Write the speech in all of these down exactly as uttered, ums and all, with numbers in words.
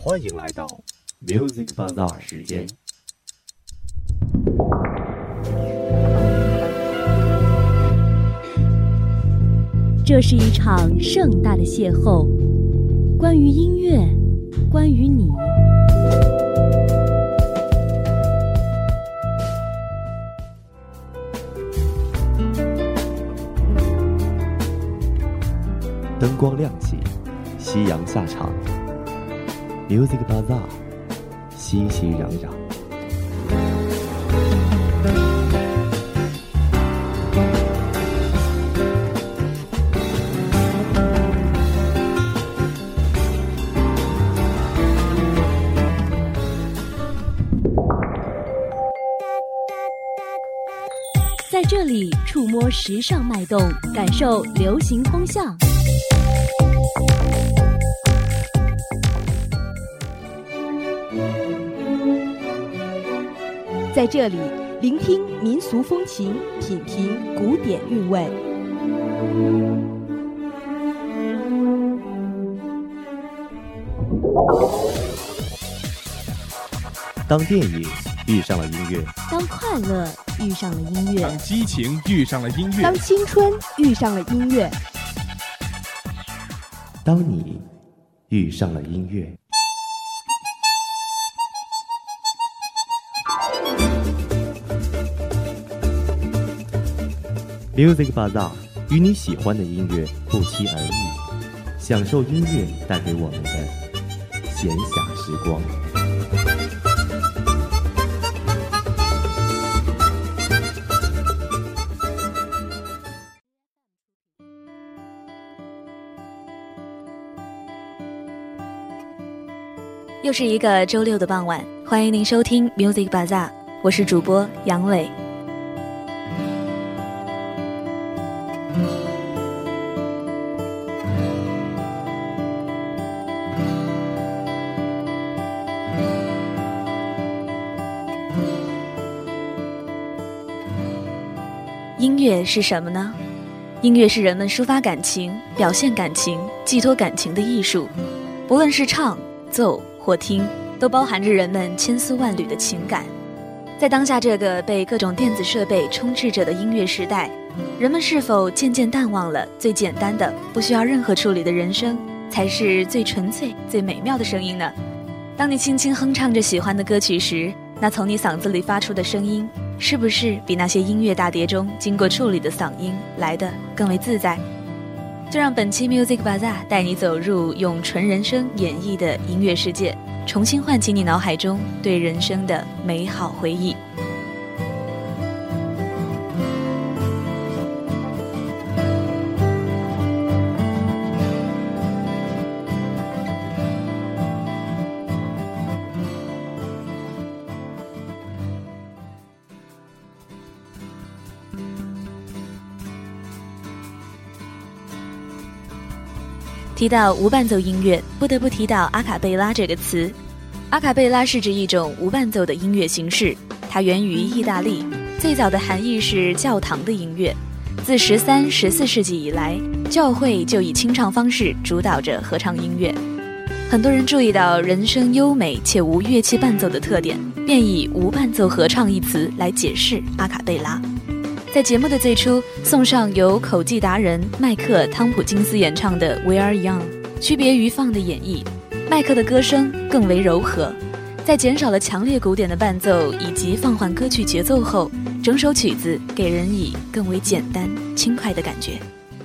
欢迎来到 Music Bazaar 时间。 这是一场盛大的邂逅，关于音乐，关于你。 灯光亮起，夕阳下场 ，Music Bazaar， 熙熙攘攘。 在这里触摸时尚脉动，感受流行风向。在这里聆听民俗风情，品评古典韵味。 当电影遇上了音乐， 当快乐遇上了音乐， 当激情遇上了音乐， 当青春遇上了音乐， 当你遇上了音乐。Music Bazaar 与你喜欢的音乐不期而遇，享受音乐带给我们的闲暇时光。 又是一个周六的傍晚，欢迎您收听 Music Bazaar， 我是主播杨伟。音乐是什么呢？音乐是人们抒发感情、表现感情、寄托感情的艺术。不论是唱、奏或听，都包含着人们千丝万缕的情感。在当下这个被各种电子设备充斥着的音乐时代，人们是否渐渐淡忘了最简单的、不需要任何处理的人声，才是最纯粹、最美妙的声音呢？当你轻轻哼唱着喜欢的歌曲时，那从你嗓子里发出的声音，是不是比那些音乐大碟中经过处理的嗓音来得更为自在？就让本期 Music Bazaar 带你走入用纯人声演绎的音乐世界，重新唤起你脑海中对人生的美好回忆。提到无伴奏音乐，不得不提到阿卡贝拉这个词。阿卡贝拉是指一种无伴奏的音乐形式，它源于意大利，最早的含义是教堂的音乐。自十三、十四世纪以来，教会就以清唱方式主导着合唱音乐。很多人注意到人声优美且无乐器伴奏的特点，便以无伴奏合唱一词来解释阿卡贝拉。在节目的最初，送上由口技达人麦克·汤普金斯演唱的《We Are Young》。区别于放的演绎，麦克的歌声更为柔和，在减少了强烈鼓点的伴奏以及放缓歌曲节奏后，整首曲子给人以更为简单轻快的感觉。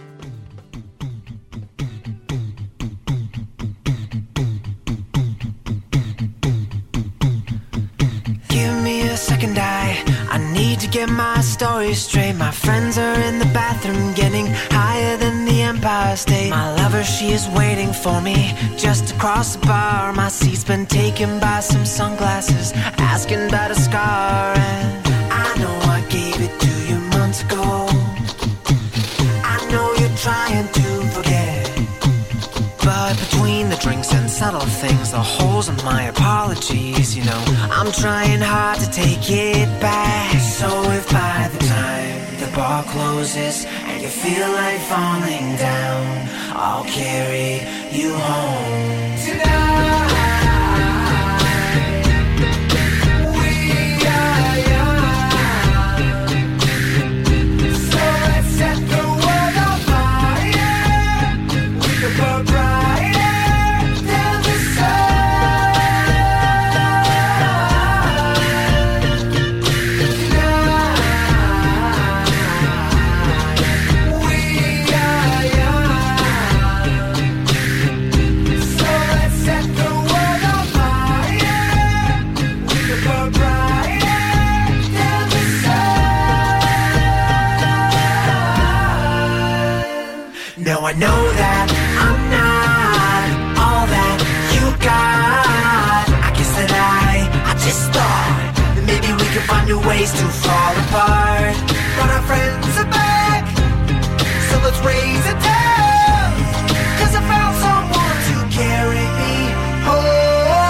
Get my story straight. My friends are in the bathroom, getting higher than the Empire State. My lover, she is waiting for me just across the bar. My seat's been taken by some sunglasses, asking about a scar. And I know I gave it to you months ago. I know you're trying to forget, but between the drinks and subtle things, the holes in my apologies, you know, I'm trying hard to take it back. So if by the time the bar closes and you feel like falling down, I'll carry you home tonight. No, I know that I'm not all that you got. I guess that I, I just thought that maybe we could find new ways to fall apart. But our friends are back, so let's raise a toast, 'cause I found someone to carry me home.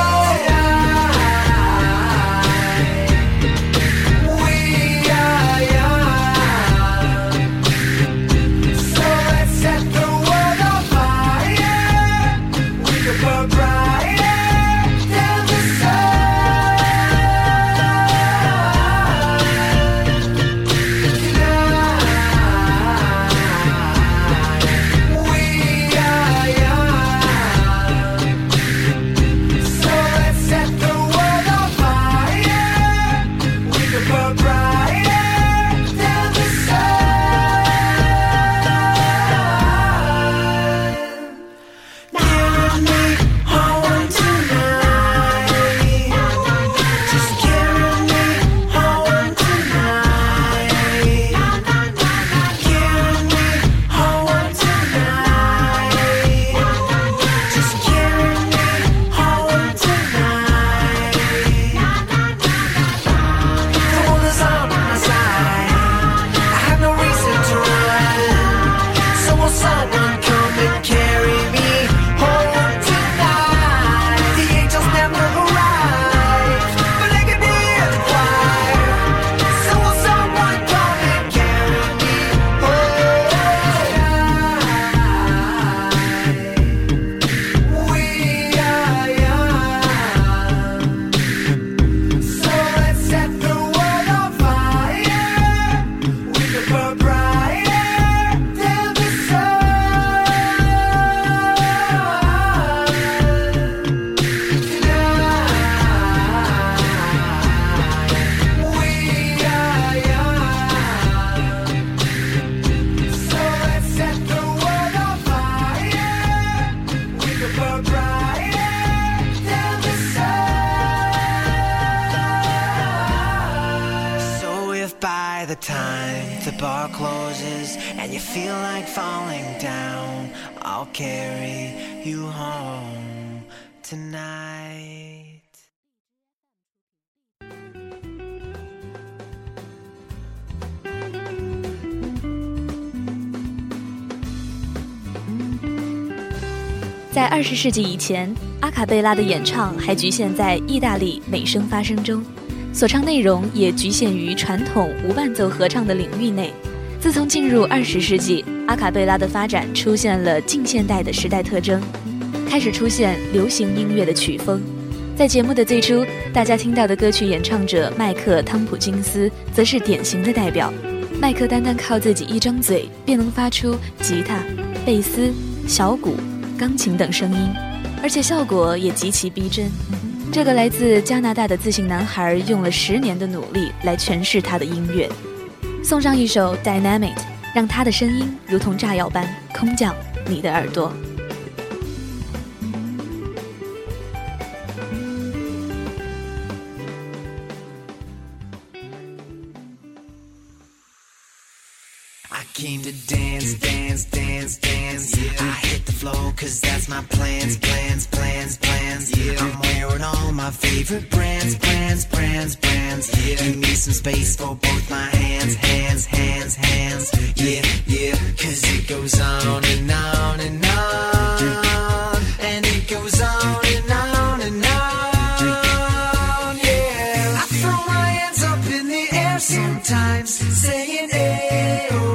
I'll carry you home tonight. 在二十世纪以前，阿卡贝拉的演唱还局限在意大利美声发声中，所唱内容也局限于传统无伴奏合唱的领域内。自从进入二十世纪，阿卡贝拉的发展出现了近现代的时代特征，开始出现流行音乐的曲风。在节目的最初，大家听到的歌曲演唱者麦克·汤普金斯则是典型的代表。麦克单单靠自己一张嘴便能发出吉他、贝斯、小鼓、钢琴等声音，而且效果也极其逼真。这个来自加拿大的自信男孩用了十年的努力来诠释他的音乐。送上一首 Dynamite， 让他的声音如同炸药般空降你的耳朵。 I came to dance, dance, dance, dance. Yeah. I hit the floor cause that's my plans, plans, plans, plans. Yeah. I'm wearing all my favorite brands, brands, brands, brands. Yeah. Give me some space for both my hands, hands, hands, hands. Yeah, yeah, cause it goes on and on and on. And it goes on and on and on. Yeah, I throw my hands up in the air sometimes, saying, hey, oh.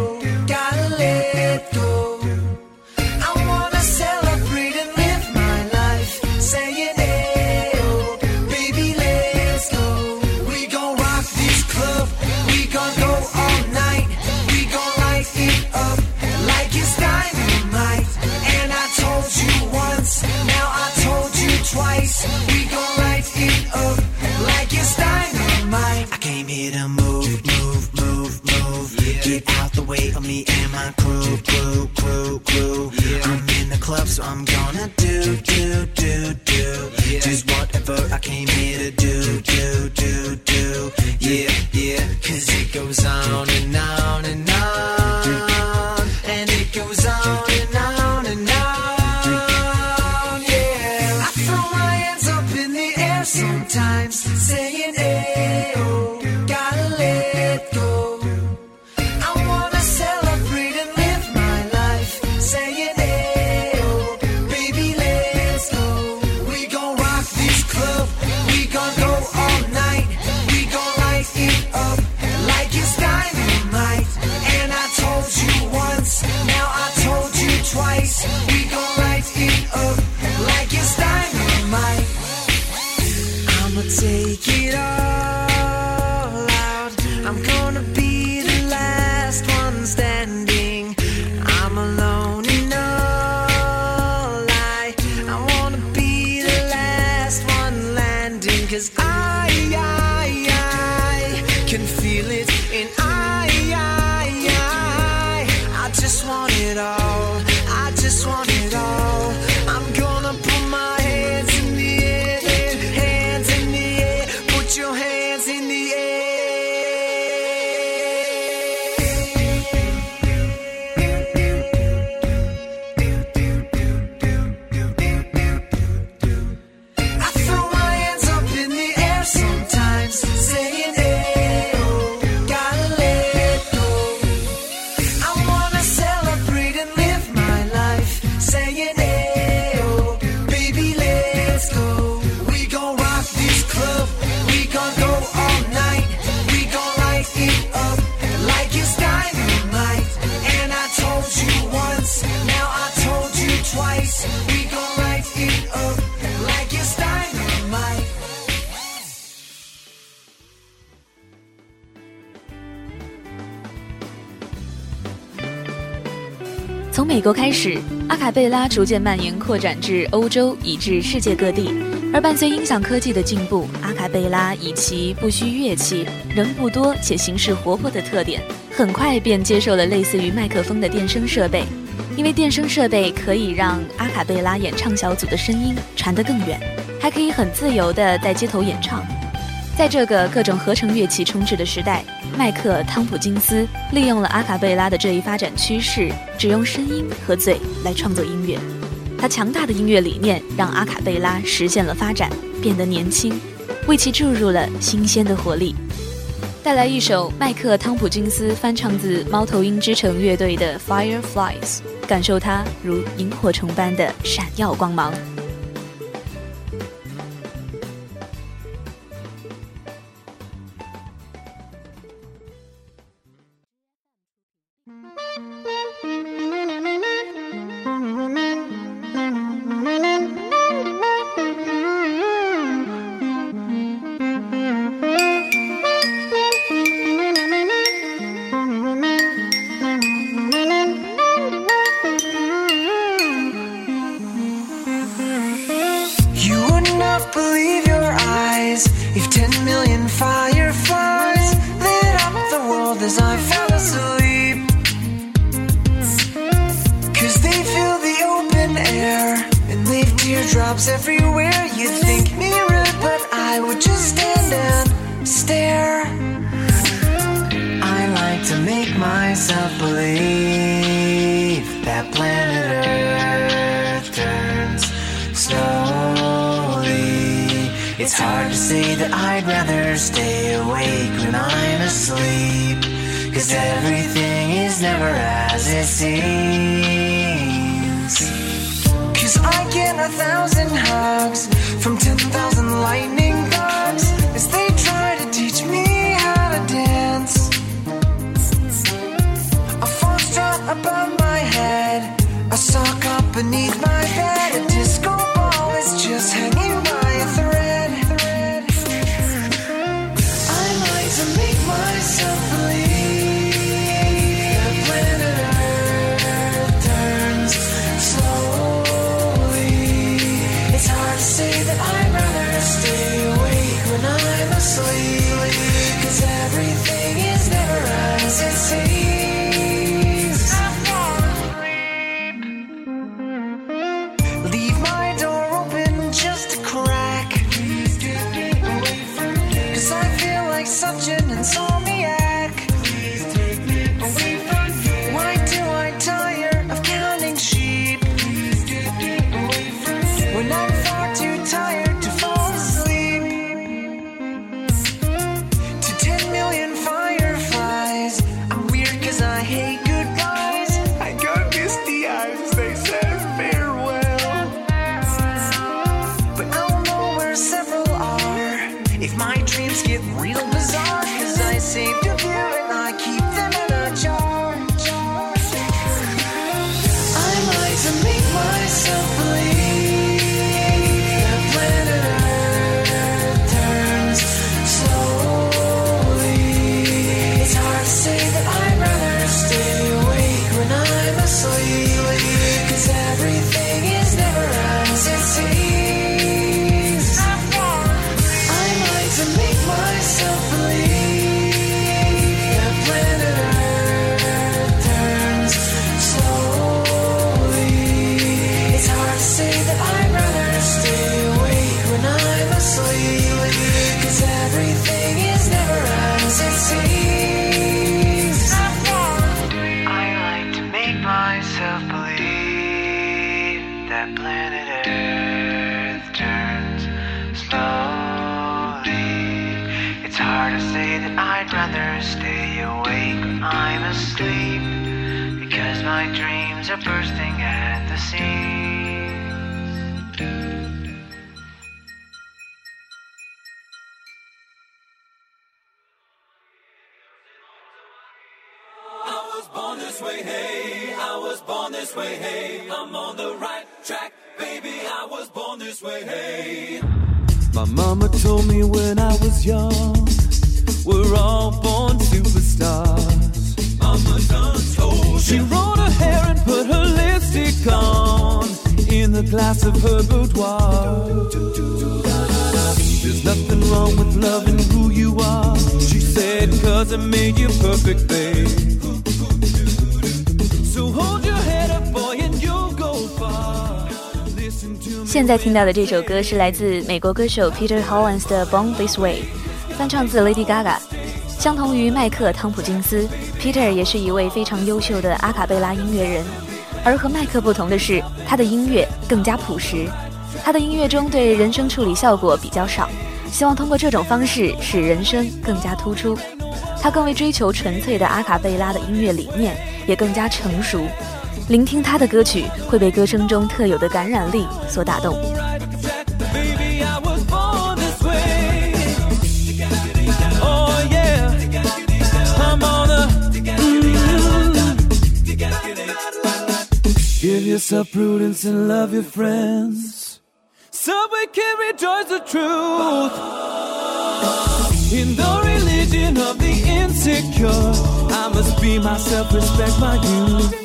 Twice, we gon' light it up like it's dynamite. I came here to move, move, move, move. Yeah. Get out the way of me and my crew, crew, crew, crew. Yeah. I'm in the club, so I'm gonna do, do, do, do. Yeah. Just whatever I came here to do, do, do, do. Yeah, yeah, cause it goes on and on and on. And it goes on and on. 美国开始，阿卡贝拉逐渐蔓延扩展至欧洲以至世界各地，而伴随音响科技的进步，阿卡贝拉以其不需乐器、人不多且形式活泼的特点，很快便接受了类似于麦克风的电声设备，因为电声设备可以让阿卡贝拉演唱小组的声音传得更远，还可以很自由地在街头演唱。在这个各种合成乐器充斥的时代，麦克·汤普金斯利用了阿卡贝拉的这一发展趋势，只用声音和嘴来创作音乐。他强大的音乐理念让阿卡贝拉实现了发展，变得年轻，为其注入了新鲜的活力。带来一首麦克·汤普金斯翻唱自猫头鹰之城乐队的 Fireflies， 感受它如萤火虫般的闪耀光芒。 Believe your eyes if ten million fireflies lit up the world as I fell asleep. Cause they fill the open air and leave teardrops everywhere. You'd think me rude, but I would just stand and stare. I like to make myself believe that planet Earth turns slowly. It's hard to say that I'd rather stay awake when I'm asleep, cause everything is never as it seems. Cause I get a thousand hugs from ten thousand lightning bugs as they try to teach me how to dance. A foxtrot above my head, a sock up beneath my bed, a disco ball is just hanging by a thread. Myself believe that planet Earth turns slowly. It's hard to say that I'd rather stay awake when I'm asleep, cause everything is never as it seems. Leave my door open just a crack, cause I feel like such an insomniac. Why do I tire of counting sheep when I'm far too tired to fall asleep? To ten million fireflies, I'm weird cause I hate goodbyes. I got misty eyes as they said farewell, but I'll know where several are if my dreams get real bizarre, cause I saved a few and I keep them in a jar. I like to make myself believe that planet Earth turns slowly. It's hard to say that I'd rather stay awake when I'm asleep, cause everything is never as it seems. I like to make myself believe that planet Earth turns slowly. It's hard to say that I'd rather stay awake when I'm asleep, cause everything is never as it seems. I like to make myself believe that planet Earth turns slowly. It's hard to say that I'd rather stay awake when I'm asleep, because my dreams are bursting at the seams. I was born this way, hey, I was born this way, hey, I'm on the right track, baby, I was born this way, hey. My mama told me when I was young, we're all born superstars. Mama done told She you. rolled her hair and put her lips gone in the glass of her boudoir. There's nothing wrong with loving who you are, she said, cause it made you perfect, babe. So hold your head up, boy, and you'll go far. Listen to me. 现在听到的这首歌是来自美国歌手 Peter Hollins 的 Born This Way， 翻唱自 Lady Gaga。相同于迈克·汤普金斯， Peter 也是一位非常优秀的阿卡贝拉音乐人，而和迈克不同的是，他的音乐更加朴实。他的音乐中对人声处理效果比较少，希望通过这种方式使人声更加突出。他更为追求纯粹的阿卡贝拉的音乐理念，也更加成熟。聆听他的歌曲会被歌声中特有的感染力所打动。 Give yourself prudence and love your friends, so we can rejoice the truth. In the religion of the insecure, I must be myself, respect my youth.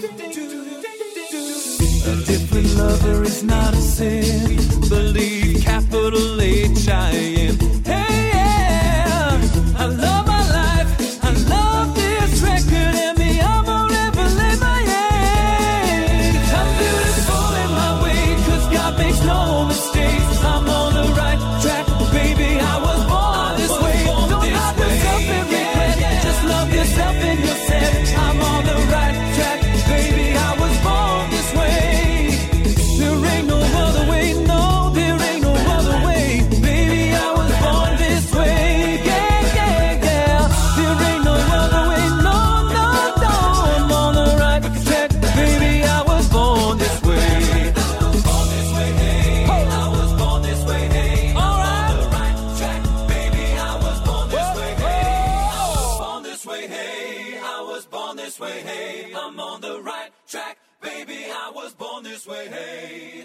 A different lover is not a sin, believe capital H I M. Hey yeah, I love my life, I love this record, and me I won't ever lay my egg. I'm beautiful in my way, cause God makes no mistakes. I'm on the right track, baby, I was born this way. Don't knock yourself and regret, just love yourself and yourself. I'm on the right track, baby, I was born this way. There ain't no other way, no, there ain't no other way. Baby, I was born this way, yeah, yeah, yeah. There ain't no other way, no, no, no. I'm on the right track, baby, I was born this way. Born this way, hey, I was born this way, hey. All right. On the right track, baby, I was born this way, hey. Born this way, hey, I was born this way, hey. I'm on the right track, baby, I was born this way, hey.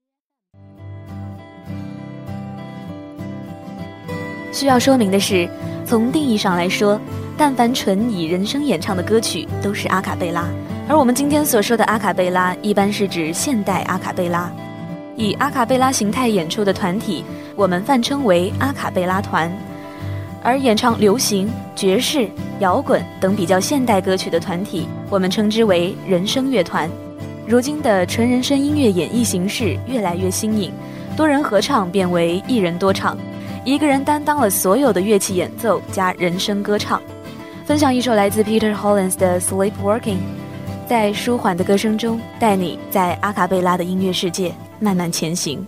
需要说明的是，从定义上来说，但凡纯以人声演唱的歌曲都是阿卡贝拉，而我们今天所说的阿卡贝拉一般是指现代阿卡贝拉。以阿卡贝拉形态演出的团体，我们泛称为阿卡贝拉团，而演唱流行、爵士、摇滚等比较现代歌曲的团体，我们称之为人声乐团。如今的纯人声音乐演绎形式越来越新颖，多人合唱变为一人多唱，一个人担当了所有的乐器演奏加人声歌唱。分享一首来自 Peter Hollins 的 Sleepwalking， 在舒缓的歌声中带你在阿卡贝拉的音乐世界慢慢前行。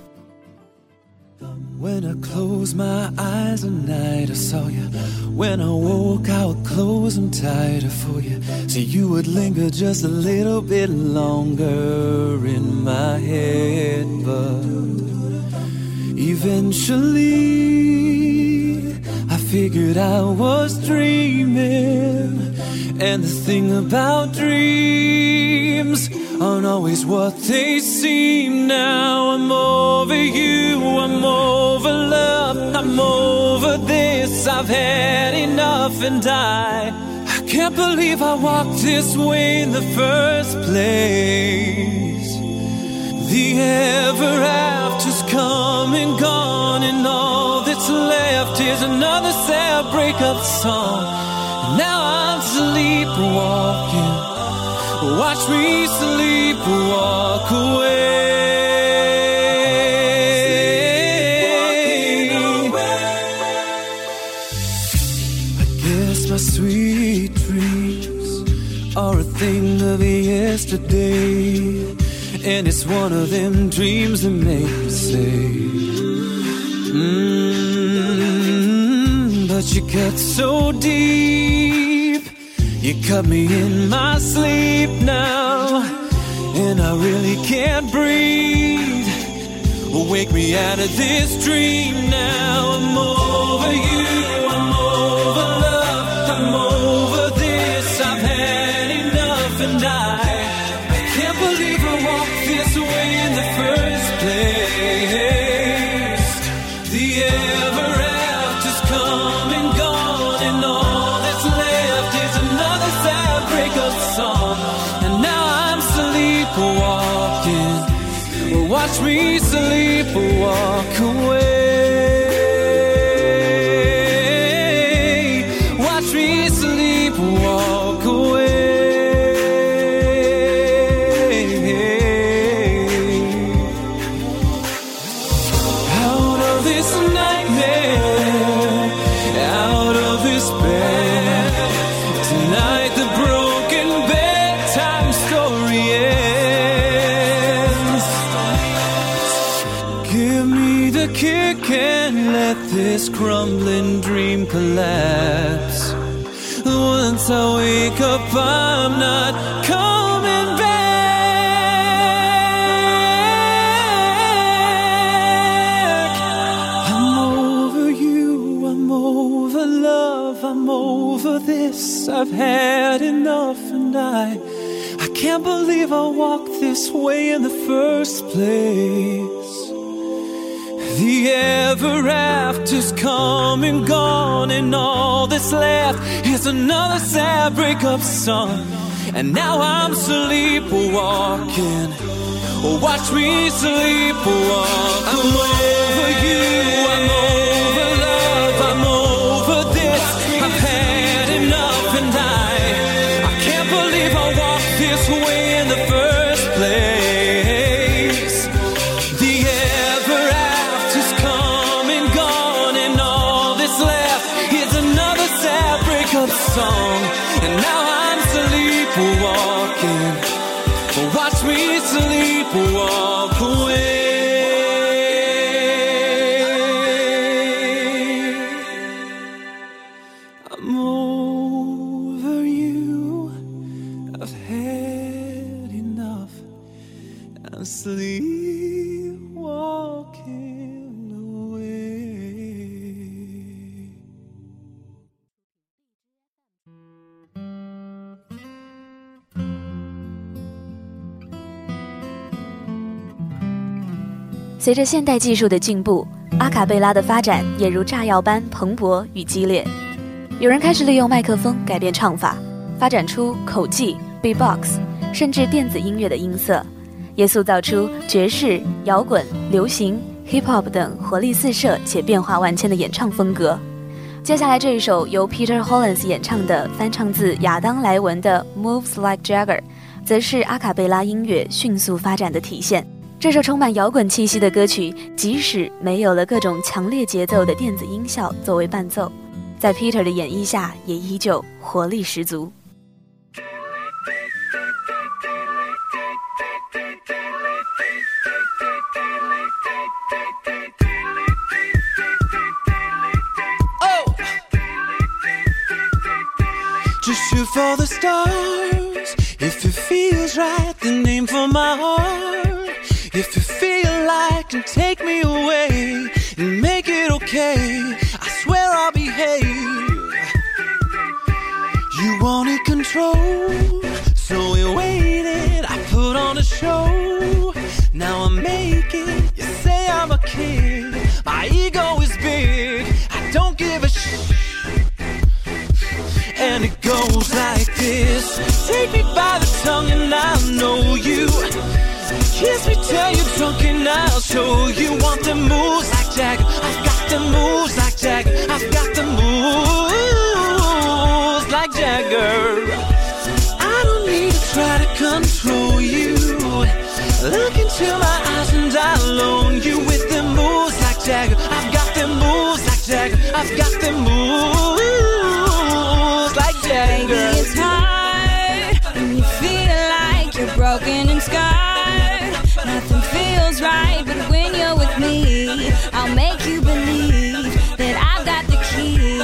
When I close my eyes at night, I saw you. When I woke, I would close them tighter for you. So you would linger just a little bit longer in my head. But eventually, I figured I was dreaming. And the thing about dreams aren't always what they seem. Now I'm over you, I'm over love, I'm over this. I've had enough and I, I can't believe I walked this way in the first place. The ever after's come and gone, and all that's left is another sad breakup song. And now I'm sleepwalking, watch me sleepwalk away. I guess my sweet dreams are a thing of yesterday, and it's one of them dreams that make me say, mm, but you cut so deep, you cut me in my sleep now, and I really can't breathe. Wake me out of this dream now. I'm over you, I'm over love, I'm over this. I've had enough and I, I can't believe I walked this way in the first place. The ever after's come and gone, and all that's left is another sad breakup song. And now I'm sleepwalking, watch me sleep or walk away. Watch me sleep or walk away. Out of this nightmare, out of this bed, tonight the broken bedtime story ends. Give me the kick and let this crumbling dream collapse. Once I wake up, I'm not coming back. I'm over you, I'm over love, I'm over this. I've had enough and I I can't believe I walked this way in the first place. The ever after's come and gone, and all that's left is another sad breakup song. And now I'm sleepwalking. Watch me sleepwalk. I'm over you, I'm over love, I'm over this. I've had enough and I I can't believe I walked this way in the first place. The ever after's come and gone, and all that's left is another sad breakup song. And now I'm sleepwalking. Watch me sleepwalk away. I'm over you, I've had enough. I'm sleepwalking away. 随着现代技术的进步，阿卡贝拉的发展也如炸药般蓬勃与激烈。有人开始利用麦克风改变唱法，发展出口技、beatbox， 甚至电子音乐的音色，也塑造出爵士、摇滚、流行、hip hop 等活力四射且变化万千的演唱风格。接下来这一首由 Peter Hollins 演唱的翻唱自亚当莱文的 Moves Like Jagger， 则是阿卡贝拉音乐迅速发展的体现。这首充满摇滚气息的歌曲，即使没有了各种强烈节奏的电子音效作为伴奏，在 Peter 的演绎下也依旧活力十足。 Just shoot for the stars. If it feels right, then aim for my heart. If you feel like and take me away and make it okay, I swear I'll behave. You wanted control, so we waited. I put on a show. Now I'm making you say I'm a kid. My ego is big, I don't give a shit. And it goes like this. Take me by the tongue and I'll know you. Kiss me till you're drunk and I'll show you. Want the moves like Jagger, I've got the moves like Jagger, I've got the moves like Jagger. I don't need to try to control you. Look into my eyes and I'll own you. With the moves like Jagger, I've got the moves like Jagger, I've got the moves like Jagger. Baby, it's hard when you feel like you're broken and scarred. Nothing feels right, but when you're with me, I'll make you believe that I've got the key.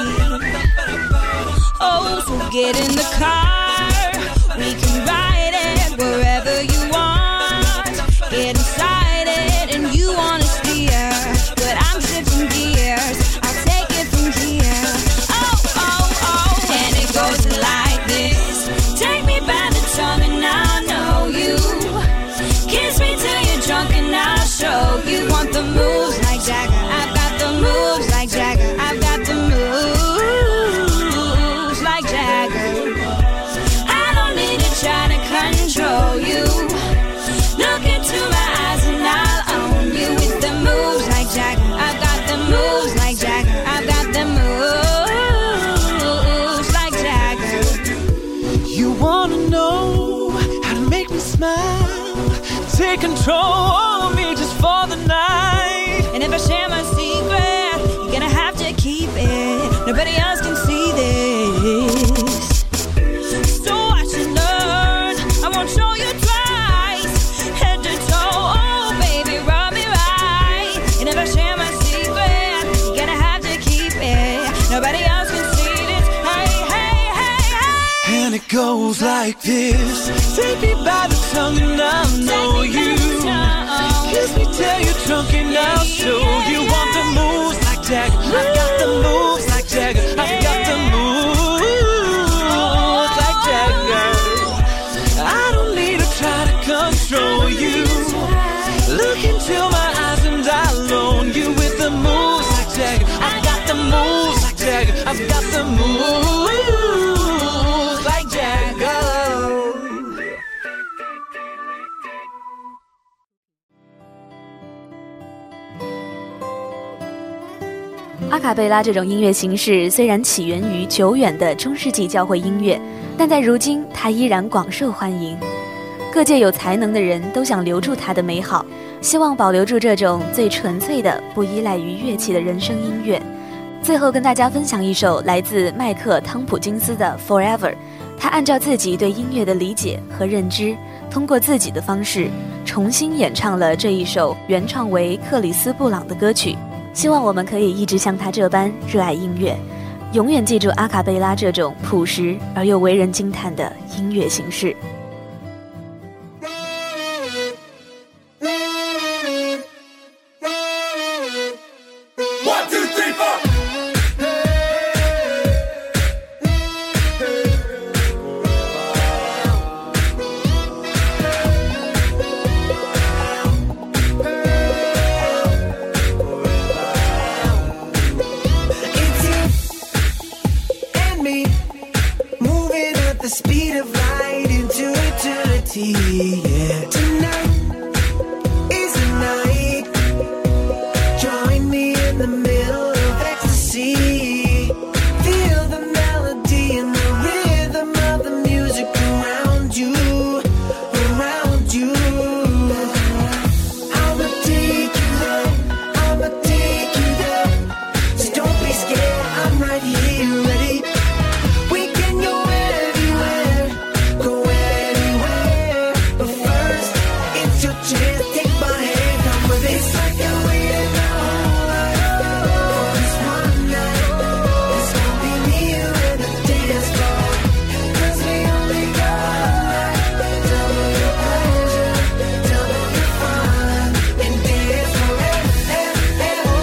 Oh, so get in the car, we can ride it wherever you want. Get inside it and you wanna steer, but I'm shifting gears, I'll take it from here. Oh, oh, oh, and it goes like this. Take me by the tongue and I'll know you. Kiss me till you're drunk and I'll show you. Want the moves like Jagger, I've got the moves like Jagger, I've got the moves like Jagger. take control of me just for the night. And if I share my secret, you're gonna have to keep it. Nobody else can see this. So watch and learn. I won't show you twice. Head to toe, oh baby, rub me right. And if I share my secret, you're gonna have to keep it. Nobody else can see this. Hey, hey, hey, hey. And it goes like this. Take me by the tongue and I'll know you. Kiss me till you're drunk and I'll show you. Want the moves like Jagger, I've got the moves like Jagger, I've got the moves like Jagger. I don't need to try to control you. Look into my eyes and I'll own you with the moves like Jagger. I've got the moves like Jagger, I've got the moves like Jagger. 阿卡贝拉这种音乐形式虽然起源于久远的中世纪教会音乐，但在如今它依然广受欢迎。各界有才能的人都想留住它的美好，希望保留住这种最纯粹的不依赖于乐器的人声音乐。最后跟大家分享一首来自麦克汤普金斯的 Forever， 他按照自己对音乐的理解和认知，通过自己的方式重新演唱了这一首原创为克里斯布朗的歌曲。希望我们可以一直像他这般热爱音乐，永远记住阿卡贝拉这种朴实而又为人惊叹的音乐形式。 The speed of light into eternity, yeah. Tonight is the night. Join me in the middle of ecstasy. Feel the melody and the rhythm of the music around you, around you. I'ma take you there, I'ma take you there. So don't be scared, I'm right here, ready. We can go anywhere, go anywhere. But first, it's your chance. Take my hand, come with it. It's like I waited my whole life for this one night. It's gonna be me, you, and the dance floor. 'Cause we only got one night. Double your pleasure, double your fun, and dance forever, ever, ever,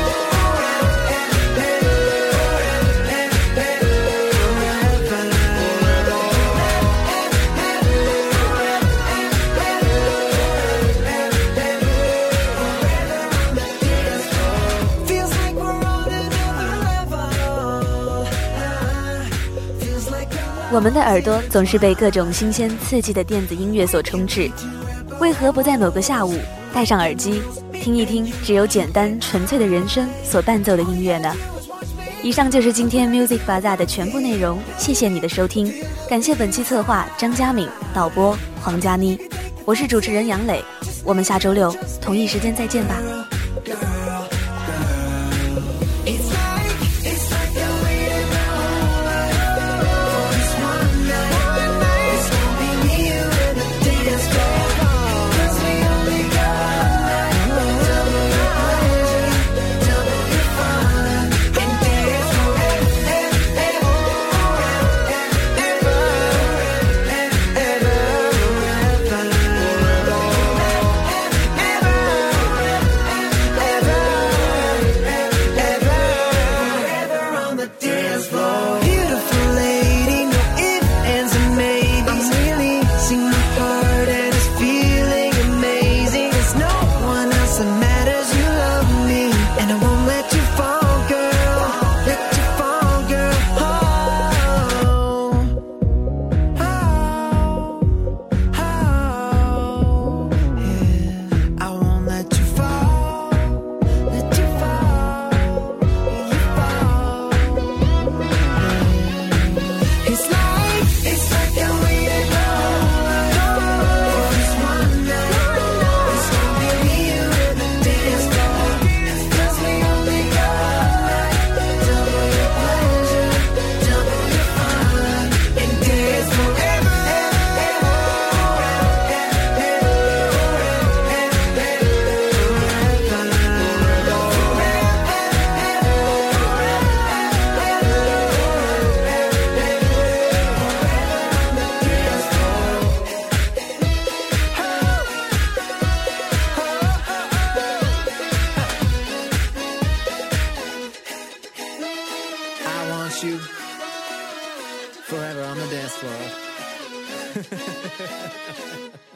Feels like we're on another level. Feels like we're 我们的耳朵总是被各种新鲜刺激的电子音乐所充斥，为何不在某个下午戴上耳机，听一听只有简单纯粹的人声所伴奏的音乐呢？以上就是今天 Music Bazaar 的全部内容，谢谢你的收听，感谢本期策划张佳敏，导播黄佳妮，我是主持人杨磊，我们下周六同一时间再见吧。 It's like, it's like I waited my whole life for this one night. It's gonna be me, you, and the dance floor. 'Cause we only got one night. Double your pleasure, double your fun, and dance forever, ever, ever, ever, ever, ever. with you forever on the dance floor.